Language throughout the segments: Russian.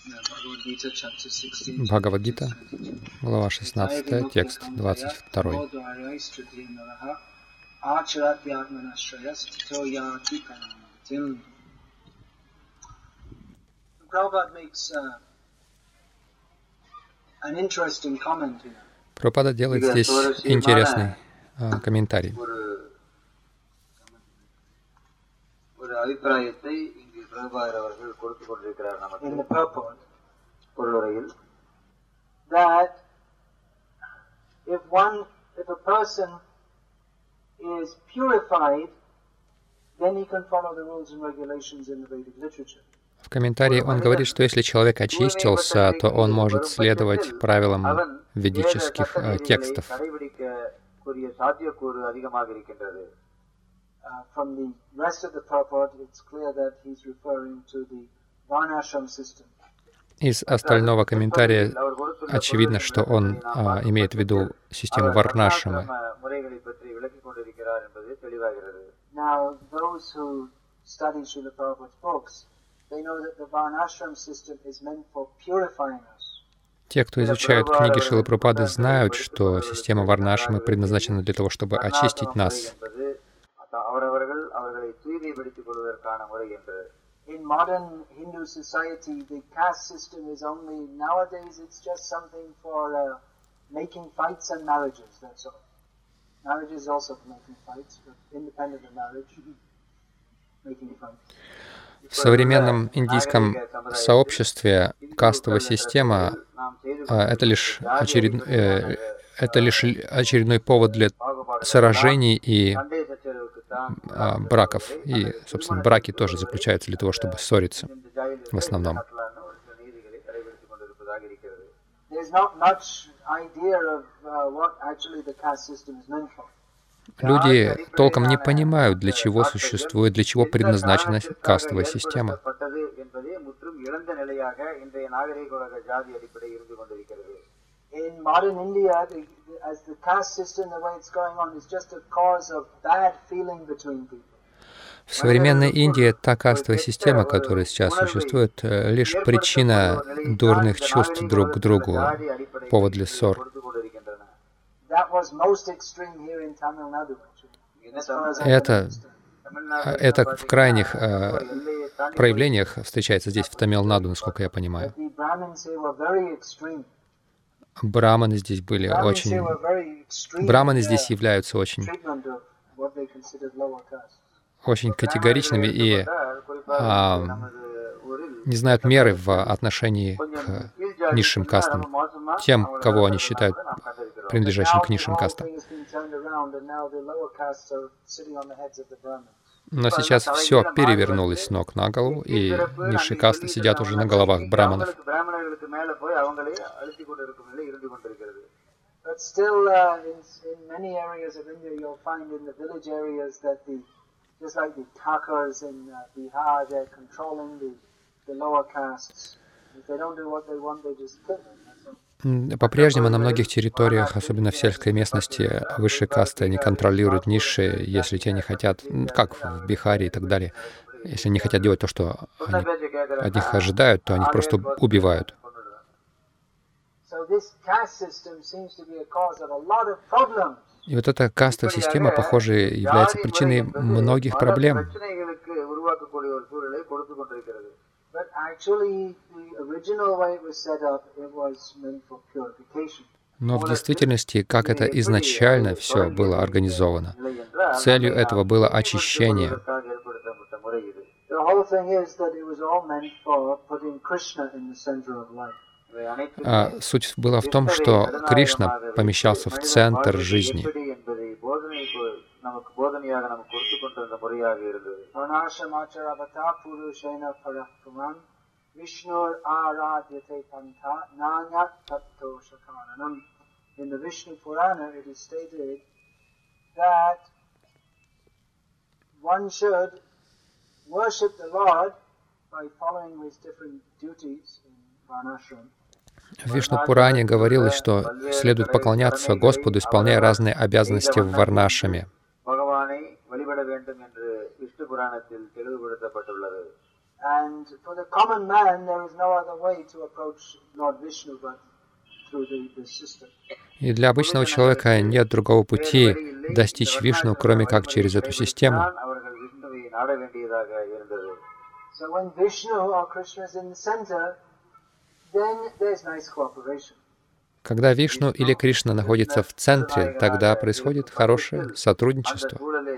Бхагавад-гита, глава 16, текст 22. Прабхупада делает здесь интересный комментарий. That if a person is purified, then he can follow the rules and regulations in the Vedic literature. В комментарии он говорит, что если человек очистился, то он может следовать правилам ведических текстов. From the rest of the purport, it's clear that he's referring to the varnashram system. Из остального комментария очевидно, что он имеет в виду систему варнашрамы. Now, those who study Srila Prabhupada's books, they know that the varnashram system is meant for purifying us. Те, кто изучают книги Шрилы Прабхупады, знают, что система варнашрамы предназначена для того, чтобы очистить нас. In modern Hindu society, the caste system is only, nowadays it's just something for making fights and marriages, that's all. Marriage is also for making fights, but independent of marriage, making fights. В современном индийском сообществе кастовая система — это лишь очередной повод для сражений и браков. И, собственно, браки тоже заключаются для того, чтобы ссориться в основном. Люди толком не понимают, для чего существует, для чего предназначена кастовая система. In modern India, as the caste system, the way it's going on, is just a cause of bad feeling between people. В современной Индии та кастовая система, которая сейчас существует, лишь причина дурных чувств друг к другу, повод для ссор. Это в крайних проявлениях встречается здесь, в Тамил-Наду, насколько я понимаю. Браманы здесь были очень... Браманы здесь являются очень категоричными и не знают меры в отношении к низшим кастам, тем, кого они считают принадлежащим к низшим кастам. Но сейчас все перевернулось с ног на голову, и низшие касты сидят уже на головах браманов. По-прежнему на многих территориях, особенно в сельской местности, высшие касты не контролируют низшие, если те не хотят, как в Бихаре и так далее. Если не хотят делать то, что они от них ожидают, то они просто убивают. И вот эта кастовая система, похоже, является причиной многих проблем. Но в действительности, как это изначально все было организовано, целью этого было очищение. Суть была в том, что Кришна помещался в центр жизни. In the Vishnu Purana, it is stated that one should worship the Lord by following his different duties in Varnashram. В Вишну-Пуране говорилось, что следует поклоняться Господу, исполняя разные обязанности в Варнашраме. And for the common man, there is no other way to approach Lord Vishnu but through the system. И для обычного человека нет другого пути достичь Вишну, кроме как через эту систему. So when Vishnu or Krishna is in the center, then there's nice cooperation. Когда Вишну или Кришна находится в центре, тогда происходит хорошее сотрудничество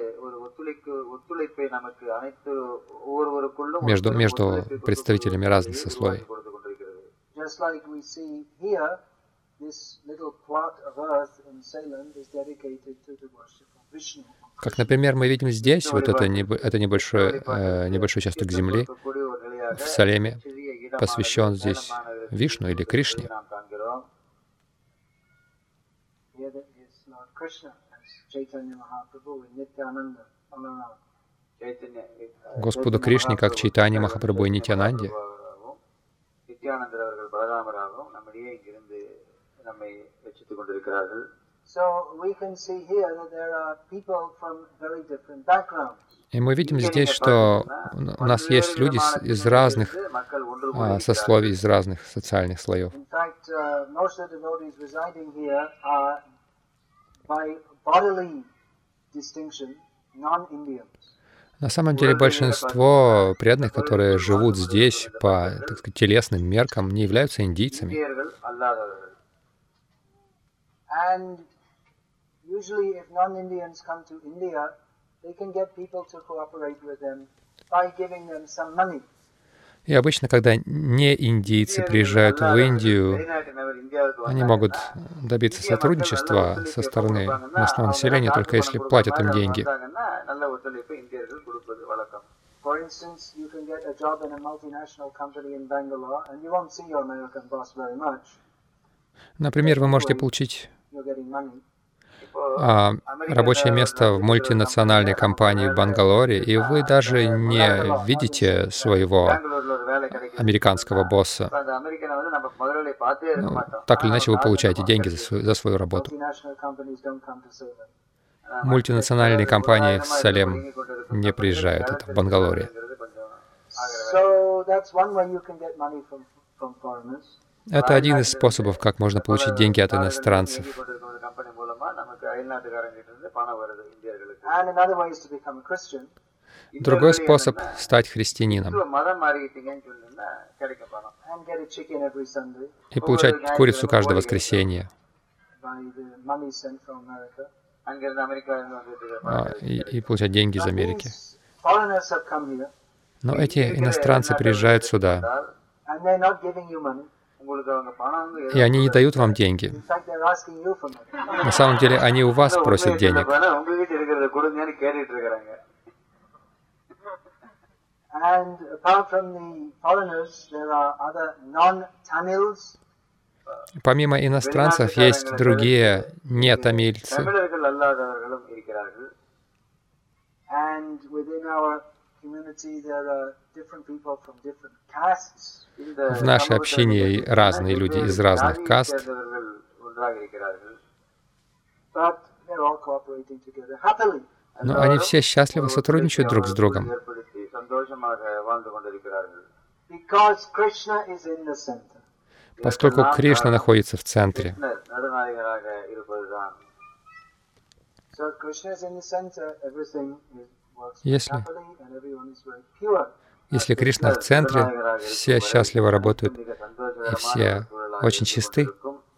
между представителями разных сословий. Just like we see here, this little plot of earth in Salem is dedicated to the worship of Vishnu. Как, например, мы видим здесь, вот это небольшой участок земли в Салеме, посвящен здесь Вишну или Кришне. Господу Кришне, как Чайтанья Махапрабху и Нитьянанде. И мы видим здесь, что у нас есть люди из разных сословий, из разных социальных слоев. На самом деле большинство преданных, которые живут здесь по, так сказать, телесным меркам, не являются индийцами. И обычно, когда не индийцы приезжают в Индию, они могут добиться сотрудничества со стороны местного населения, только если платят им деньги. Например, вы можете получить рабочее место в мультинациональной компании в Бангалоре, и вы даже не видите своего американского босса. Так или иначе, вы получаете деньги за свою работу. Мультинациональные компании в Салем не приезжают, это в Бангалоре. Это один из способов, как можно получить деньги от иностранцев. Другой способ — стать христианином и получать курицу каждое воскресенье, и получать деньги из Америки. Но эти иностранцы приезжают сюда, и они не дают вам деньги. На самом деле, они у вас просят денег. Помимо иностранцев, есть другие не-тамильцы. В нашей общине разные люди из разных каст, но они все счастливо сотрудничают друг с другом, поскольку Кришна находится в центре. Если Кришна в центре, все счастливо работают, и все очень чисты.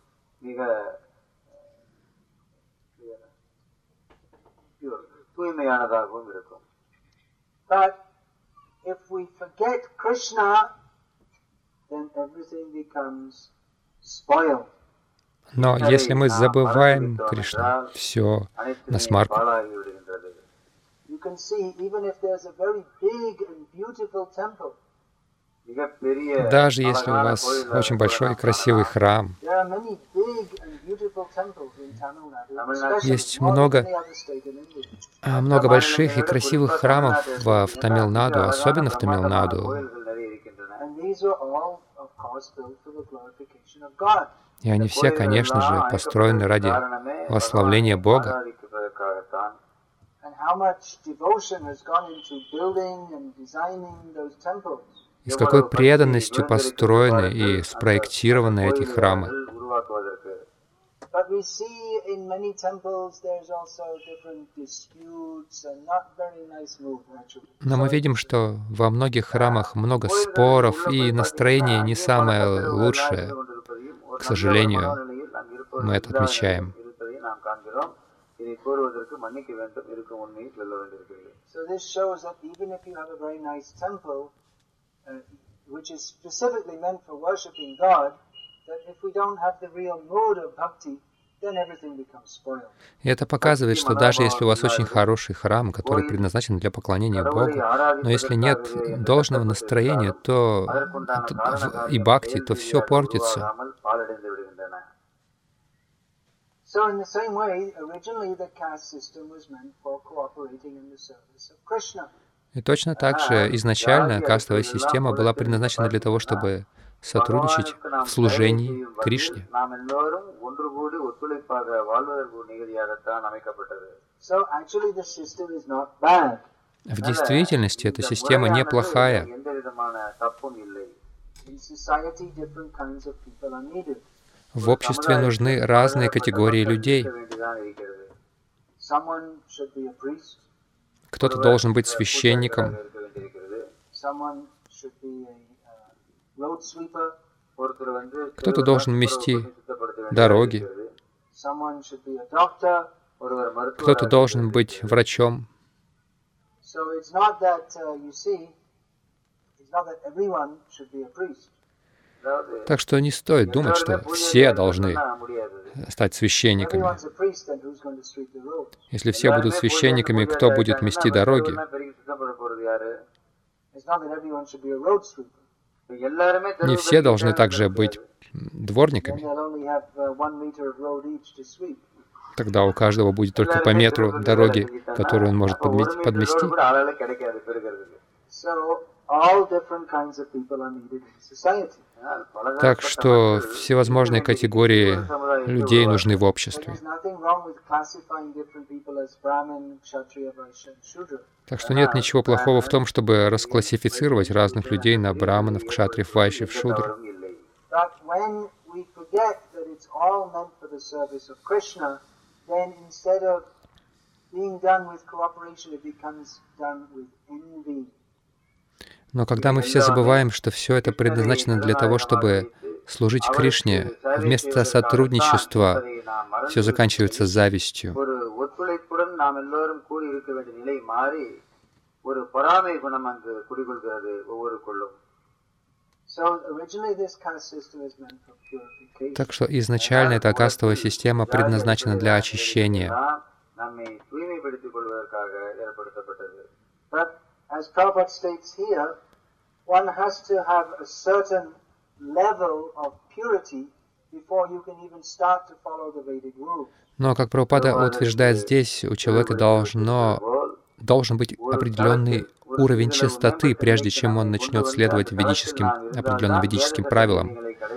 Но если мы забываем Кришну, все насмарку. Даже если у вас очень большой и красивый храм, есть много больших и красивых храмов в Тамилнаду, особенно в Тамилнаду. И они все, конечно же, построены ради восславления Бога. И с какой преданностью построены и спроектированы эти храмы. Но мы видим, что во многих храмах много споров, и настроение не самое лучшее. К сожалению, мы это отмечаем. Which is specifically meant for worshiping God, that if we don't have the real mode of bhakti, then everything becomes spoiled. И это показывает, что даже если у вас очень хороший храм, который предназначен для поклонения Богу, но если нет должного настроения, то и бхакти, то все портится. So in the same way, originally the caste system was meant for cooperating in the service of Krishna. И точно так же изначально кастовая система была предназначена для того, чтобы сотрудничать в служении Кришне. В действительности эта система неплохая. В обществе нужны разные категории людей. Кто-то должен быть священником, кто-то должен мести дороги, кто-то должен быть врачом. Так что не стоит думать, что все должны стать священниками. Если все будут священниками, кто будет мести дороги? Не все должны также быть дворниками. Тогда у каждого будет только по метру дороги, которую он может подмести. Так что всевозможные категории людей нужны в обществе. Так что нет ничего плохого в том, чтобы расклассифицировать разных людей на браманов, кшатриев, вайшьев, шудр. Но когда мы все забываем, что все это предназначено для того, чтобы служить Кришне, вместо сотрудничества все заканчивается завистью. Так что изначально эта кастовая система предназначена для очищения. As Prabhupada states here, one has to have a certain level of purity before you can even start to follow the Vedic rules. Но, как Прабхупада утверждает здесь, у человека должен быть определенный уровень чистоты, прежде чем он начнет следовать определенным ведическим правилам.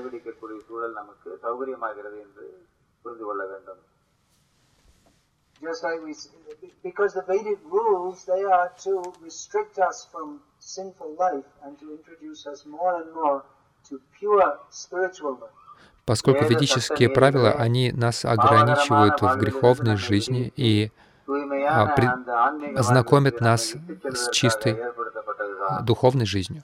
Just like because the Vedic rules, they are to restrict us from sinful life and to introduce us more and more to pure spiritual life. Поскольку ведические правила, они нас ограничивают в греховной жизни и знакомят нас с чистой духовной жизнью.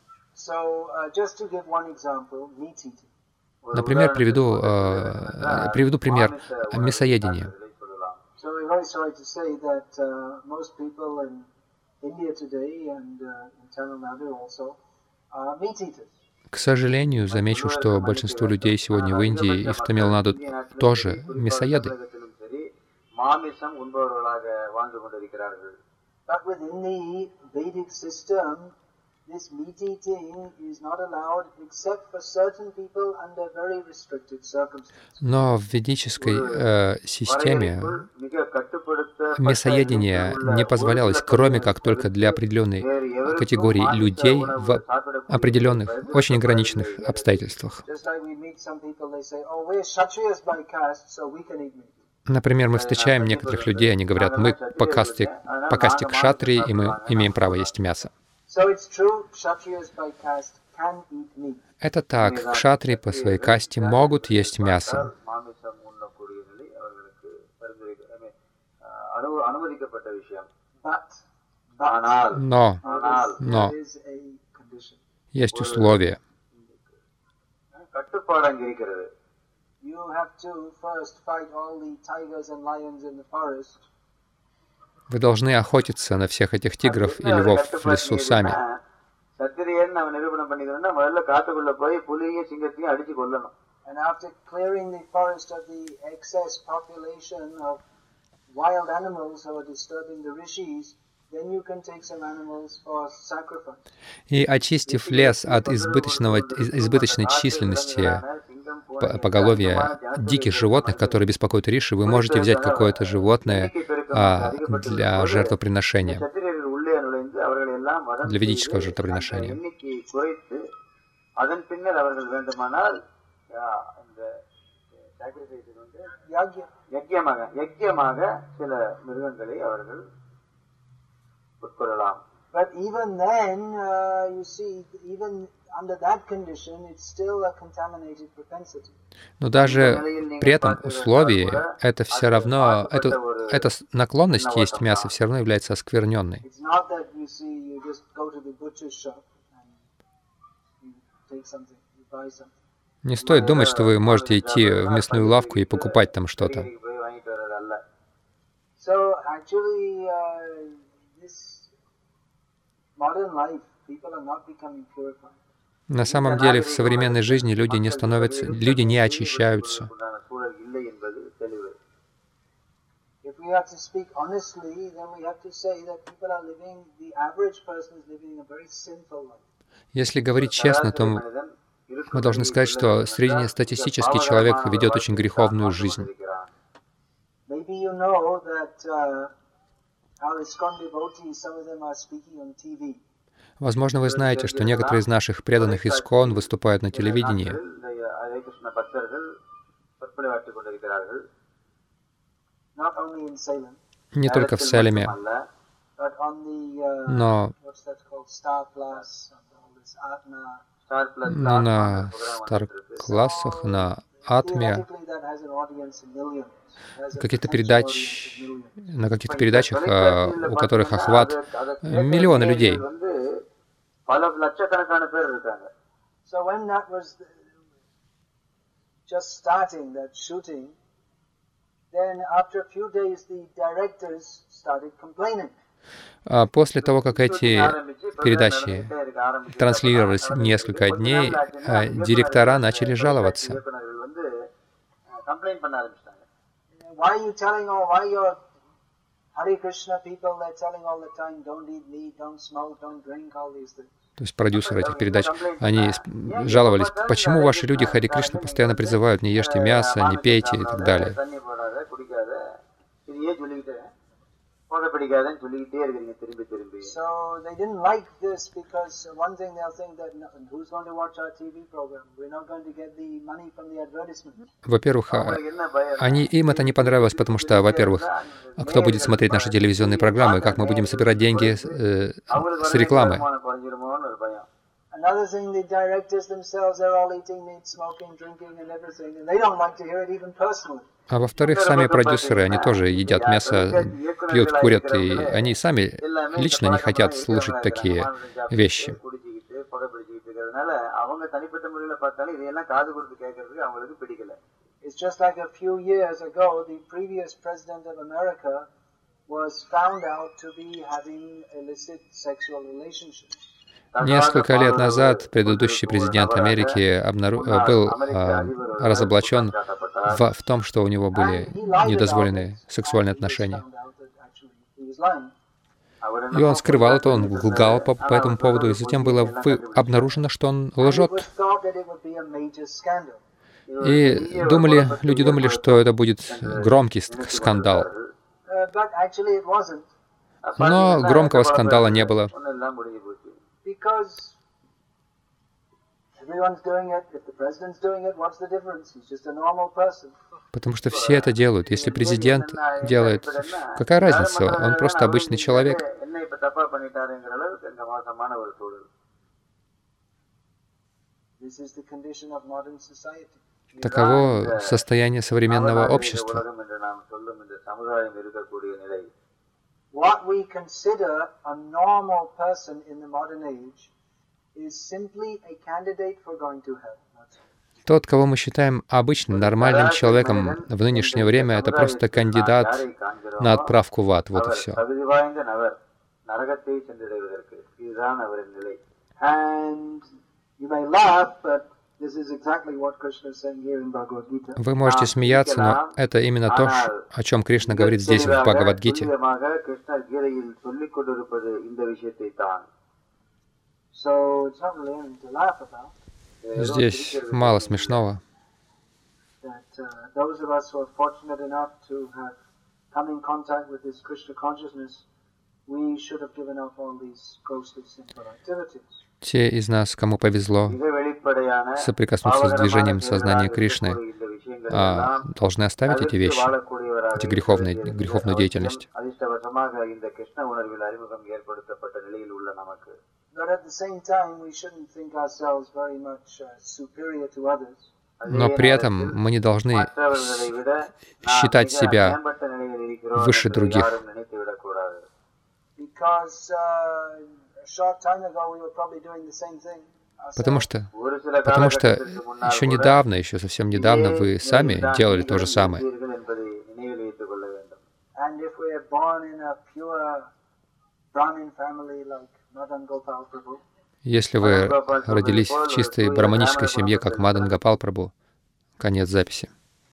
Например, приведу пример мясоедения. So we're very sorry to say that most people in India today and in Tamil Nadu also are meat eaters. К сожалению, замечу, что большинство людей сегодня в Индии и в Тамил-Наду тоже мясоеды. But within the Vedic system, this meat eating is not allowed except for certain people under very restricted circumstances. Но в ведической системе мясоедение не позволялось, кроме как только для определенной категории людей в определенных, очень ограниченных обстоятельствах. Например, мы встречаем некоторых людей, они говорят, мы по касте кшатрии, и мы имеем право есть мясо. Это так, кшатрии по своей касте могут есть мясо. Но есть условия. Вы должны охотиться на всех этих тигров и львов в лесу сами. И очистив лес от избыточной численности поголовья диких животных, которые беспокоят Риши, вы можете взять какое-то животное для жертвоприношения, для ведического жертвоприношения. But even then, you see, even under that condition, it's still a contaminated propensity. Но даже при этом условии это все равно, эта наклонность есть мясо все равно является оскверненной. It's not that you see, you just go to the butcher's shop and you take something, you buy something. Не стоит думать, что вы можете идти в мясную лавку и покупать там что-то. So actually, this modern life, people are not becoming purified. На самом деле, в современной жизни люди не очищаются. If we have to speak honestly, then we have to say that people are living, the average person is living a very sinful life. Если говорить честно, то мы должны сказать, что среднестатистический человек ведет очень греховную жизнь. Maybe you know that our ISKCON devotees, some of them are speaking on TV. Возможно, вы знаете, что некоторые из наших преданных ИСККОН выступают на телевидении. Не только в Салеме, но на Стар-классах, на Атме, на каких-то передачах, у которых охват миллионы людей. So when that was just starting, that shooting, then after a few days the directors started complaining. После того, как эти передачи транслировались несколько дней, директора начали жаловаться. Why are you telling why your Hare Krishna people, they're telling all the time, don't eat meat, don't smoke, don't drink, all these things. То есть продюсеры этих передач, они жаловались, почему ваши люди Харе Кришна постоянно призывают, не ешьте мясо, не пейте и так далее. So they didn't like this because one thing they'll think that who's going to watch our TV program? We're not going to get the money from the advertisement. Во-первых, им это не понравилось, потому что, во-первых, кто будет смотреть наши телевизионные программы, как мы будем собирать деньги с рекламы. Another thing, the directors themselves are all eating meat, smoking, drinking and everything, and they don't like to hear it even personally. А во-вторых, сами продюсеры, они тоже едят мясо, пьют, курят, и они сами лично не хотят слышать такие вещи. It's just like a few years ago, the previous president of America was found out to be having illicit sexual relationships. Несколько лет назад предыдущий президент Америки был разоблачен в том, что у него были недозволенные сексуальные отношения. И он скрывал это, он лгал по этому поводу, и затем было обнаружено, что он лжет. И люди думали, что это будет громкий скандал. Но громкого скандала не было. Because everyone's doing it. If the president's doing it, what's the difference? He's just a normal person. Потому что все это делают. Если президент делает, какая разница? Он просто обычный человек. Таково состояние современного общества. What we consider a normal person in the modern age is simply a candidate for going to hell. Тот, кого мы считаем обычным, нормальным человеком в нынешнее время, это просто кандидат на отправку в ад. Вот и все. Вы можете смеяться, но это именно то, о чем Кришна говорит здесь, в Бхагавад-гите. Здесь мало смешного. Те из нас, кому повезло соприкоснуться с движением сознания Кришны, должны оставить эти вещи, эти греховную деятельность. Но при этом мы не должны считать себя выше других. Потому что еще недавно, еще совсем недавно вы сами делали то же самое. Если вы родились в чистой браманической семье, как Мадан Гопал Прабху, конец записи.